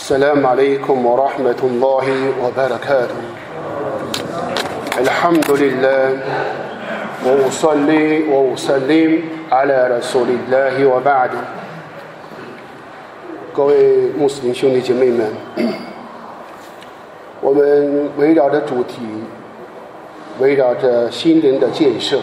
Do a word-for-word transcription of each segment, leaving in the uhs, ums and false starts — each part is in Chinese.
السلام عليكم ورحمة الله وبركاته الحمد لله وأصلي وأسلم على رسول الله وبعد。 各位穆斯林兄弟姐妹们，我们围绕着主题，围绕着心灵的建设。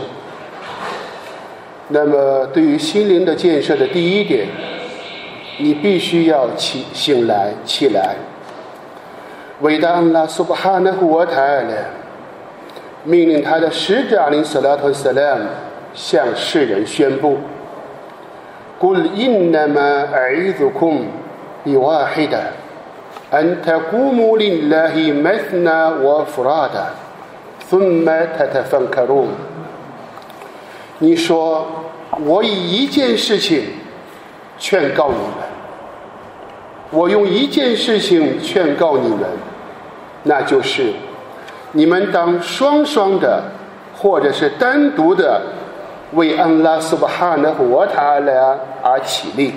那么对于心灵的建设的第一点，你必须要起醒来起来。伟大安拉苏巴哈纳胡瓦塔尔命令他的使者阿林萨拉特萨拉姆向世人宣布：“قل إنما أعظكم بواحدة أن تقوموا لله مثنى وفرادا ثم تتفكرون。” 你说，我以一件事情劝告你们，我用一件事情劝告你们，那就是你们当双双的或者是单独的为安拉苏巴哈纳胡瓦塔拉而起立，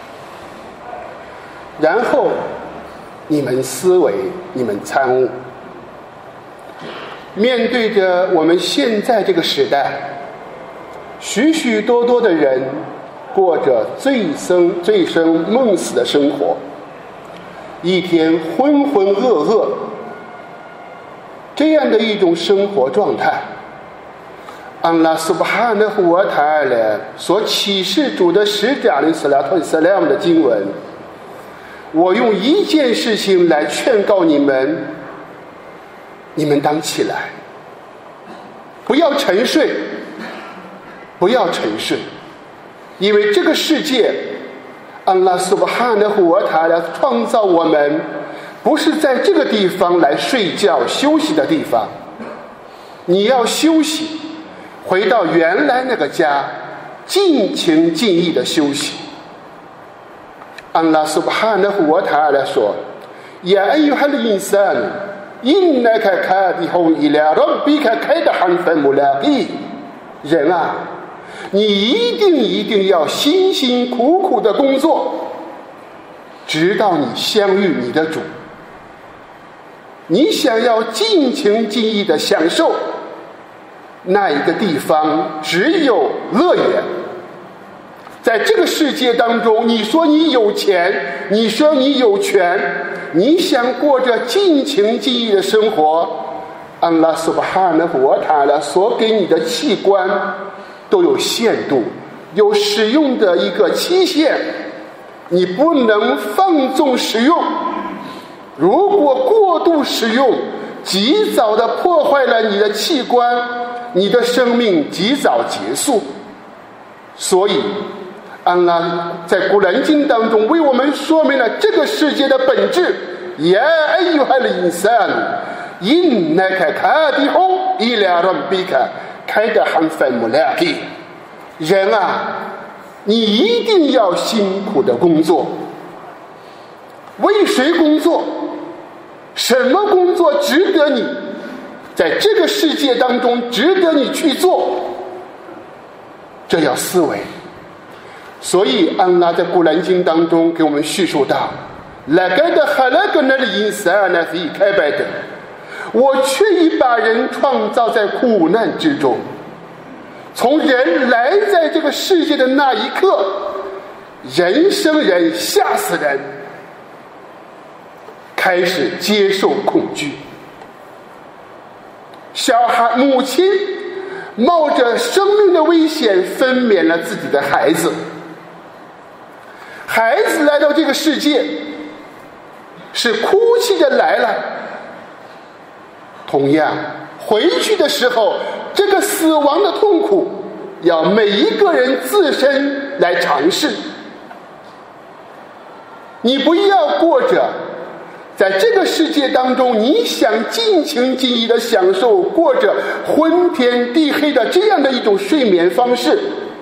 然后你们思维，你们参悟。面对着我们现在这个时代，许许多多的人过着醉生醉生梦死的生活，一天浑浑噩噩，这样的一种生活状态，安拉苏巴哈纳胡瓦塔尔所启示主的使者阿里斯拉特斯拉姆的经文，我用一件事情来劝告你们，你们当起来，不要沉睡，不要沉睡，因为这个世界，安拉苏巴哈纳胡瓦塔尔创造我们，不是在这个地方来睡觉休息的地方。你要休息，回到原来那个家，尽情尽意的休息。安拉苏巴哈纳胡瓦塔尔说：“呀哎呦哈的因三，因那个卡迪后伊拉让比卡开的汉分穆拉比人啊，你一定一定要辛辛苦苦的工作，直到你相遇你的主。你想要尽情尽意的享受那一个地方，只有乐园。在这个世界当中，你说你有钱，你说你有权，你想过着尽情尽意的生活，安拉苏巴哈纳胡瓦塔拉所给你的器官都有限度，有使用的一个期限，你不能放纵使用。如果过度使用，及早的破坏了你的器官，你的生命及早结束。所以安拉在古兰经当中为我们说明了这个世界的本质。呀哎呦哈的因三，因那个卡迪后伊拉让比卡开的汉分穆拉比人啊，你一定要辛苦的工作。为谁工作？什么工作值得你在这个世界当中值得你去做？这要思维。所以安拉在古兰经当中给我们叙述到，我却已把人创造在苦难之中。从人来在这个世界的那一刻，人生人，吓死人，开始接受恐惧。小孩母亲冒着生命的危险分娩了自己的孩子，孩子来到这个世界是哭泣着来了，同样回去的时候，这个死亡的痛苦要每一个人自身来尝试。你不要过着在这个世界当中你想尽情尽意的享受，过着昏天地黑的这样的一种睡眠方式。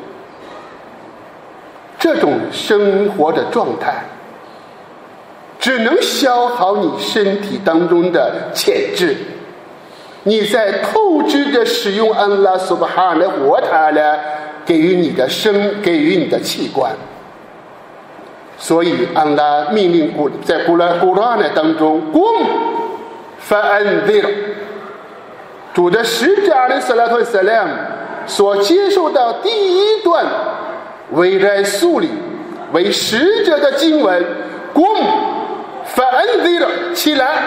这种生活的状态只能消耗你身体当中的潜质，你在透支着使用安拉苏巴哈纳胡瓦塔拉给予你的生给予你的器官。 所以安拉命令古在古兰古兰当中 قم فأنذر 主的使者阿里斯拉特萨拉姆所接受到第一段为来肃礼为使者的经文 قم فأنذر 起来，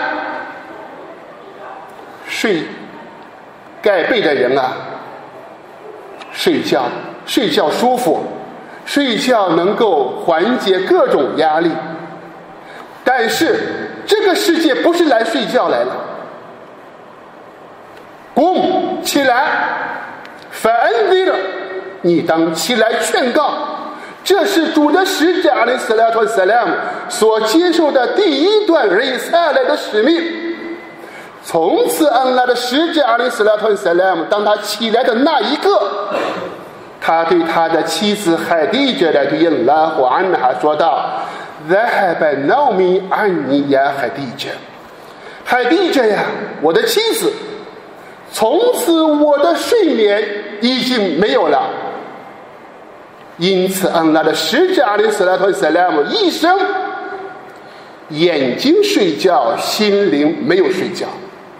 睡盖被的人啊，睡觉睡觉舒服，睡觉能够缓解各种压力，但是这个世界不是来睡觉来了。قم起来 فأنذر 你当起来劝告，这是主的使者阿里斯拉特萨拉姆所接受的第一段瑞萨来的使命。从此安拉的使者阿里斯拉特萨拉姆当他起来的那一刻，他对他的妻子海蒂姐的对因拉或安哈说道 ذهب نومي عني يا خديجة 海蒂姐呀，我的妻子，从此我的睡眠已经没有了。因此安拉的使者阿里斯拉特萨拉姆一生眼睛睡觉，心灵没有睡觉。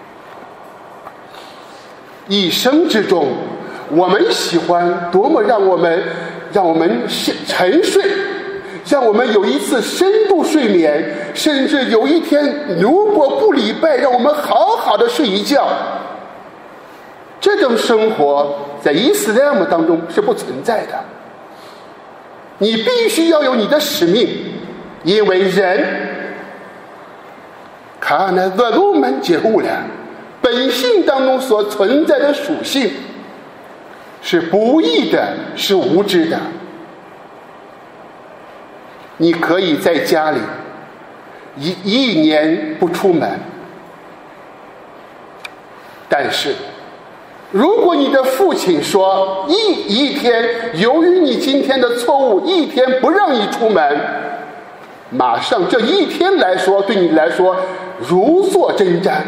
一生之中我们喜欢多么让我们让我们沉睡，让我们有一次深度睡眠，甚至有一天如果不礼拜让我们好好的睡一觉。这种生活在伊斯兰姆当中是不存在的。你必须要有你的使命，因为人看那恶路们解悟了本性当中所存在的属性是不义的，是无知的。你可以在家里一一年不出门，但是如果你的父亲说一一天由于你今天的错误一天不让你出门，马上这一天来说对你来说如坐针毡。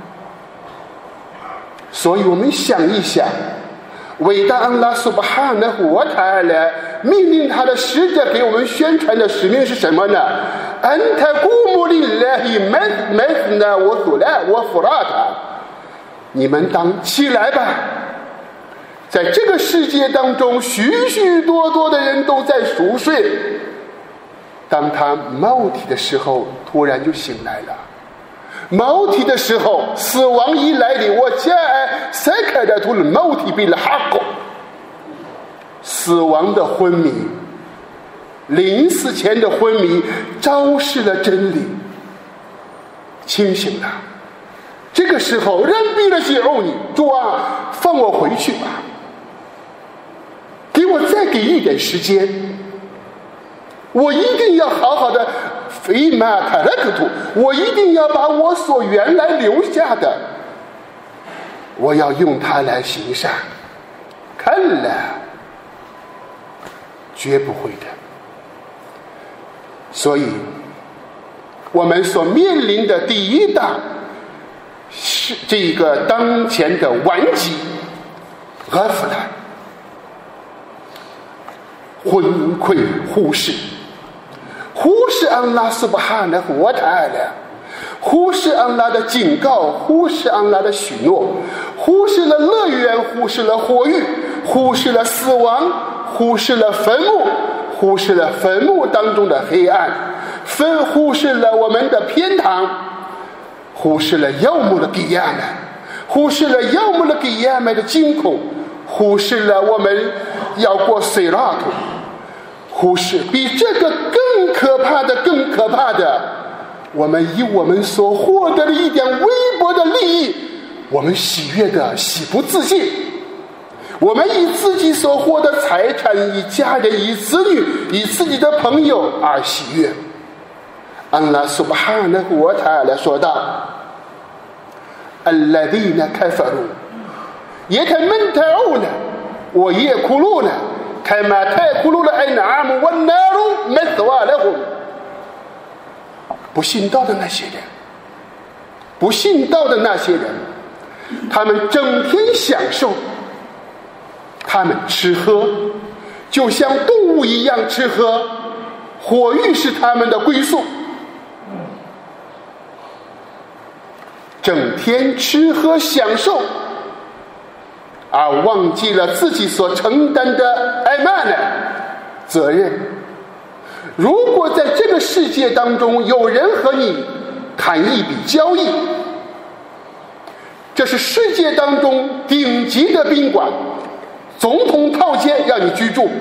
所以我们想一想，伟大安拉苏巴哈纳胡瓦塔尔命令他的使者给我们宣传的使命是什么呢？安塔古穆里拉希麦麦斯纳我苏拉我弗拉塔，你们当起来吧。在这个世界当中许许多多的人都在熟睡，当他冒体的时候突然就醒来了。冒体的时候死亡一来临，我家塞开的图了冒体比了哈狗，死亡的昏迷，临死前的昏迷昭示了真理，清醒了。这个时候人逼了解哦，你主啊，放我回去吧，给我再给一点时间，我一定要好好的非马塔勒克图，我一定要把我所原来留下的，我要用它来行善。看了，绝不会的。所以我们所面临的第一大是这个当前的顽疾阿弗兰，昏聩忽视，忽视安拉苏巴哈纳胡瓦塔尔，忽视安拉的警告，忽视安拉的许诺，忽视了乐园，忽视了火狱，忽视了死亡，忽视了坟墓，忽视了坟墓当中的黑暗，分忽视了我们的偏袒，忽视了要姆的给亚们，忽视了要姆的给亚们的惊恐，忽视了我们要过水拉图，忽视比这个更可怕的更可怕的，我们以我们所获得的一点微薄的利益，我们喜悦的喜不自禁，我们以自己所获得财产，以家人，以子女，以自己的朋友而喜悦。安拉苏巴哈纳胡瓦塔尔说道：“الذين كفروا يتمتعون ويأكلون كما تأكل الأنعام والنار مثوى لهم。”不信道的那些人，不信道的那些人，他们整天享受，他们吃喝，就像动物一样吃喝， 火狱是他们的归宿，整天吃喝享受，而忘记了自己所承担的艾曼的责任。如果在这个世界当中有人和你谈一笔交易，这是世界当中顶级的宾馆，总统套间让你居住，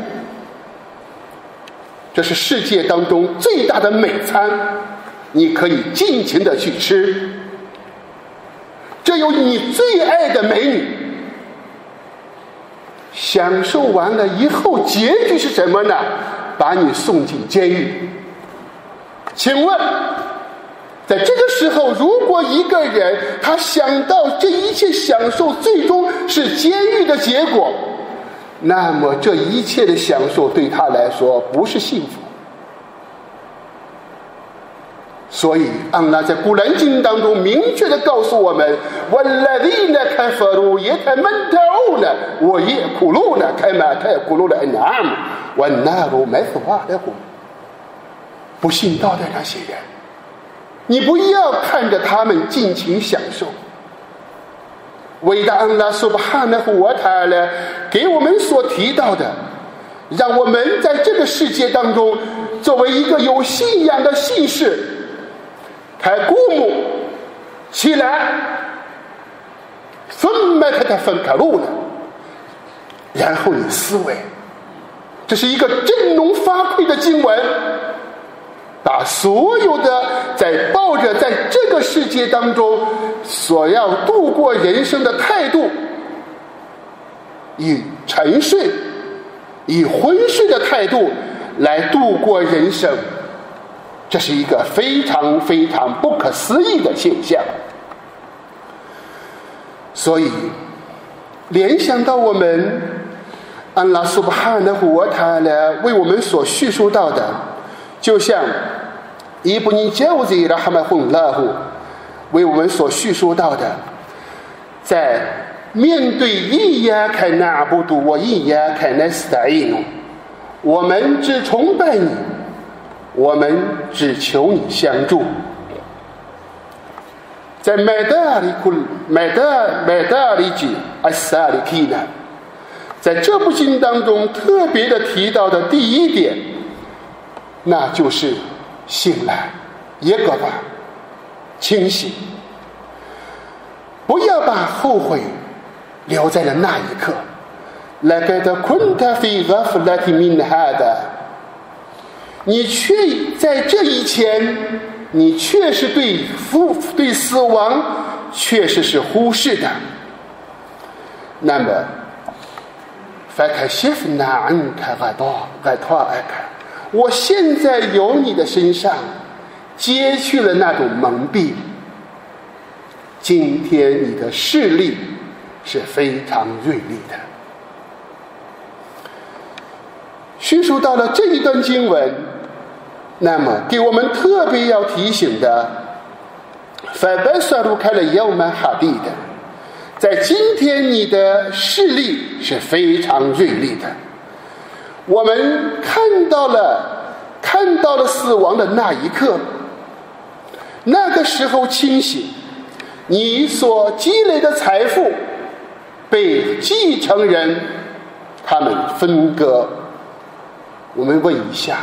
这是世界当中最大的美餐，你可以尽情的去吃，这有你最爱的美女，享受完了以后结局是什么呢？把你送进监狱。请问在这个时候，如果一个人他想到这一切享受最终是监狱的结果，那么这一切的享受对他来说不是幸福。所以安拉在古兰经当中明确的告诉我们والذين كفروا يتمتعون ويأكلون كما تأكل الأنعام والنار مثوى لهم。不信道的那些人，你不要看着他们尽情享受。伟大安拉苏巴哈纳胡瓦塔勒给我们所提到的，让我们在这个世界当中作为一个有信仰的信士，开古墓起来，分麦开他分开路了，然后你思维，这是一个振聋发聩的经文，把所有的在抱着在这个世界当中所要度过人生的态度，以沉睡以昏睡的态度来度过人生，这是一个非常非常不可思议的现象。所以联想到我们安拉苏巴哈纳胡瓦塔勒为我们所叙述到的，就像伊布尼焦兹拉哈麦混拉胡为我们所叙述到的，在面对伊亚凯纳布杜我伊亚凯纳斯达伊努，我们只崇拜你，我们只求你相助。在麦达里库麦达麦达里吉阿萨里基呢，在这部经当中特别的提到的第一点，那就是醒来，耶格巴，清醒，不要把后悔留在了那一刻。لقد كنت في غفلة من هذا，你却在这以前，你确实对死对死亡确实是忽视的。那么فكشفنا عنك غطاءك，我现在由你的身上揭去了那种蒙蔽。今天你的视力是非常锐利的。叙述到了这一段经文，那么给我们特别要提醒的，فبصرك اليوم حديد，在今天你的视力是非常锐利的。我们看到了看到了死亡的那一刻，那个时候清醒，你所积累的财富被继承人他们分割。我们问一下，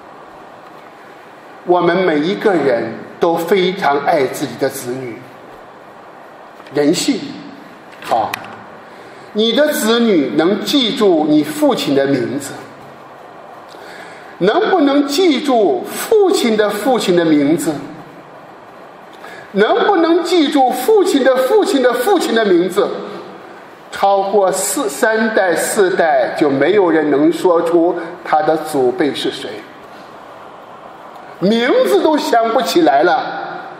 我们每一个人都非常爱自己的子女，人性好，你的子女能记住你父亲的名字，能不能记住父亲的父亲的名字？能不能记住父亲的父亲的父亲的名字？超过四三代四代，就没有人能说出他的祖辈是谁，名字都想不起来了。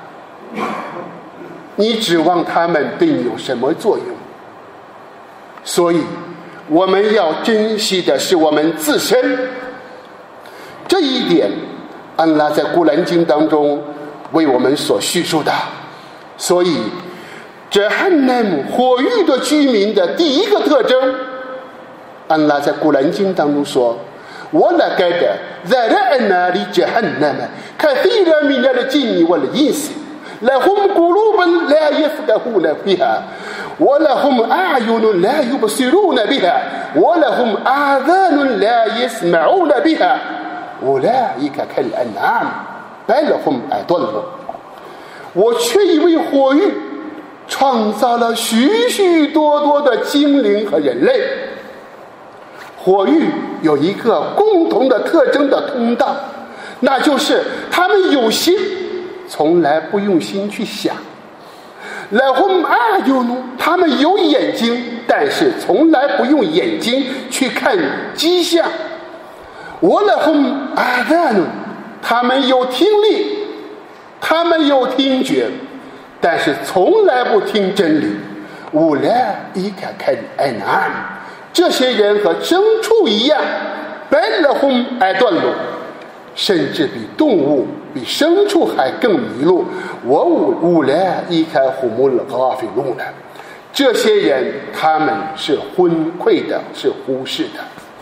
你指望他们对你有什么作用？所以我们要珍惜的是我们自身。这一点安拉在古兰经当中为我们所叙述的。所以这汉奈姆火狱的居民的第一个特征，安拉在古兰经当中说 ولقد ذرأنا لجهنم كثيرا من الجن والإنس لهم قلوب لا يفقهون بها ولهم أعين لا يبصرون بها ولهم آذان لا يسمعون بها أولئك كالأنعام بل هم أضل。我却以为火域创造了许许多多的精灵和人类。火域有一个共同的特征的通道，那就是他们有心，从来不用心去想。lahum a'yun，他们有眼睛，但是从来不用眼睛去看迹象。walahum adhan，他们有听力，他们有听觉，但是从来不听真理。ulaika kal'an'am，这些人和牲畜一样，bal hum adall，甚至比动物比牲畜还更迷路。我乌来伊开虎木了阿菲路呢，这些人他们是昏聩的，是忽视的。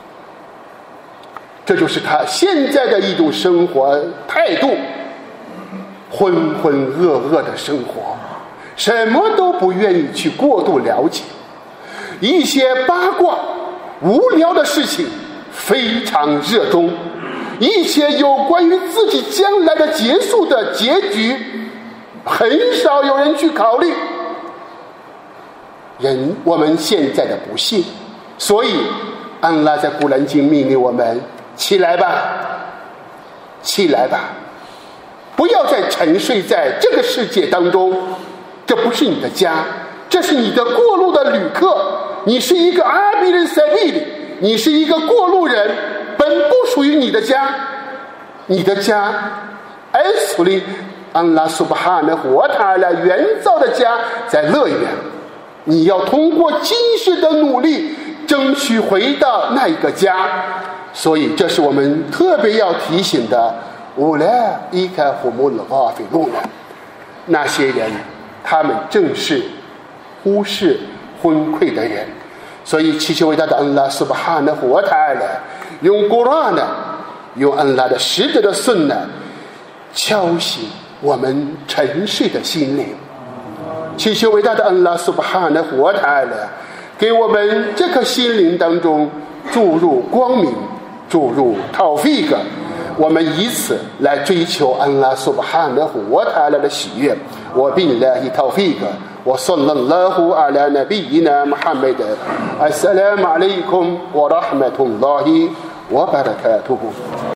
这就是他现在的一种生活态度，浑浑噩噩的生活，什么都不愿意去过度了解，一些八卦无聊的事情非常热衷，一切有关于自己将来的结束的结局很少有人去考虑。人我们现在的不幸，所以安拉在古兰经命令我们起来吧，起来吧，不要再沉睡在这个世界当中，这不是你的家，这是你的过路的旅客，你是一个阿比人塞利里，你是一个过路人，本不属于你的家。你的家埃苏里安拉苏巴哈的活塔了原造的家在乐园，你要通过今世的努力争取回到那一个家。所以这是我们特别要提醒的，乌来伊开胡木勒瓦菲路的那些人，他们正是忽视昏聩的人。所以祈求伟大的安拉苏巴哈的活塔了用古兰呢，用安拉的使者的sun呢，敲醒我们沉睡的心灵。祈求伟大的安拉苏巴哈的活塔了给我们这颗心灵当中注入光明，注入tawfiq，我们以此来追求安拉苏巴哈的活塔的喜悦。我billahi tawfiq，我sallallahu ala nabiyyina Muhammad。Assalamu alaikum wa rahmatullahi wa barakatuh。